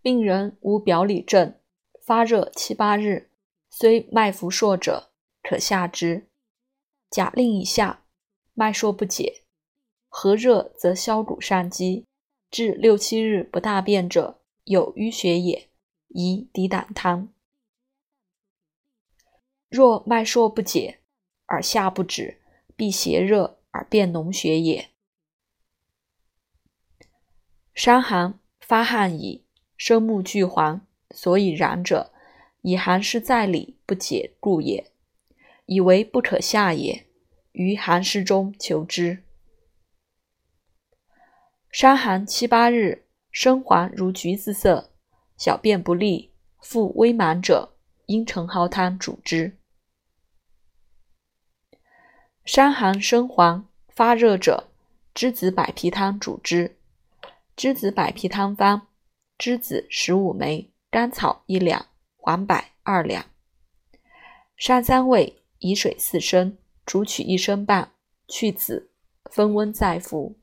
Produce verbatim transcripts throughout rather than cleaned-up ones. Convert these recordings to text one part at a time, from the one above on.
病人无表里症，发热七八日，虽脉浮数者，可下之。假令以下，脉数不解，和热则消谷上积，至六七日不大便者，有淤血也，宜抵胆汤。若脉数不解，而下不止，必邪热而变脓血也。伤寒发汗矣，生目俱黄，所以然者，以寒湿在里不解故也，以为不可下也，于寒湿中求之。伤寒七八日，生黄如橘子色，小便不利，腹微满者，应承蒿汤主之。伤寒生黄发热者，栀子百皮汤主之。栀子百皮汤方：栀子十五枚，甘草一两，黄柏二两。上三味，以水四升，煮取一升半，去子，分温再服。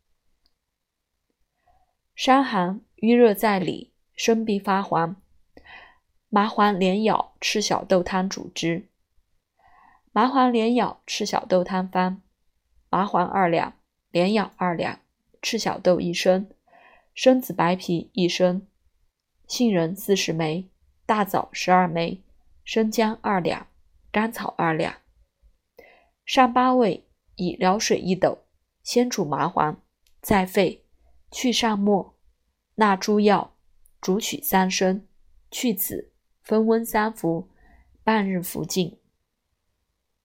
伤寒瘀热在里，生必发黄，麻黄连咬赤小豆汤主之。麻黄连咬赤小豆汤方：麻黄二两，连咬二两，赤小豆一升，生子白皮一升，杏仁四十枚，大枣十二枚，生姜二两，甘草二两。上八味，以疗水一斗，先煮麻黄，再沸，去上末，纳诸药，煮取三升，去子，分温三服，半日服尽。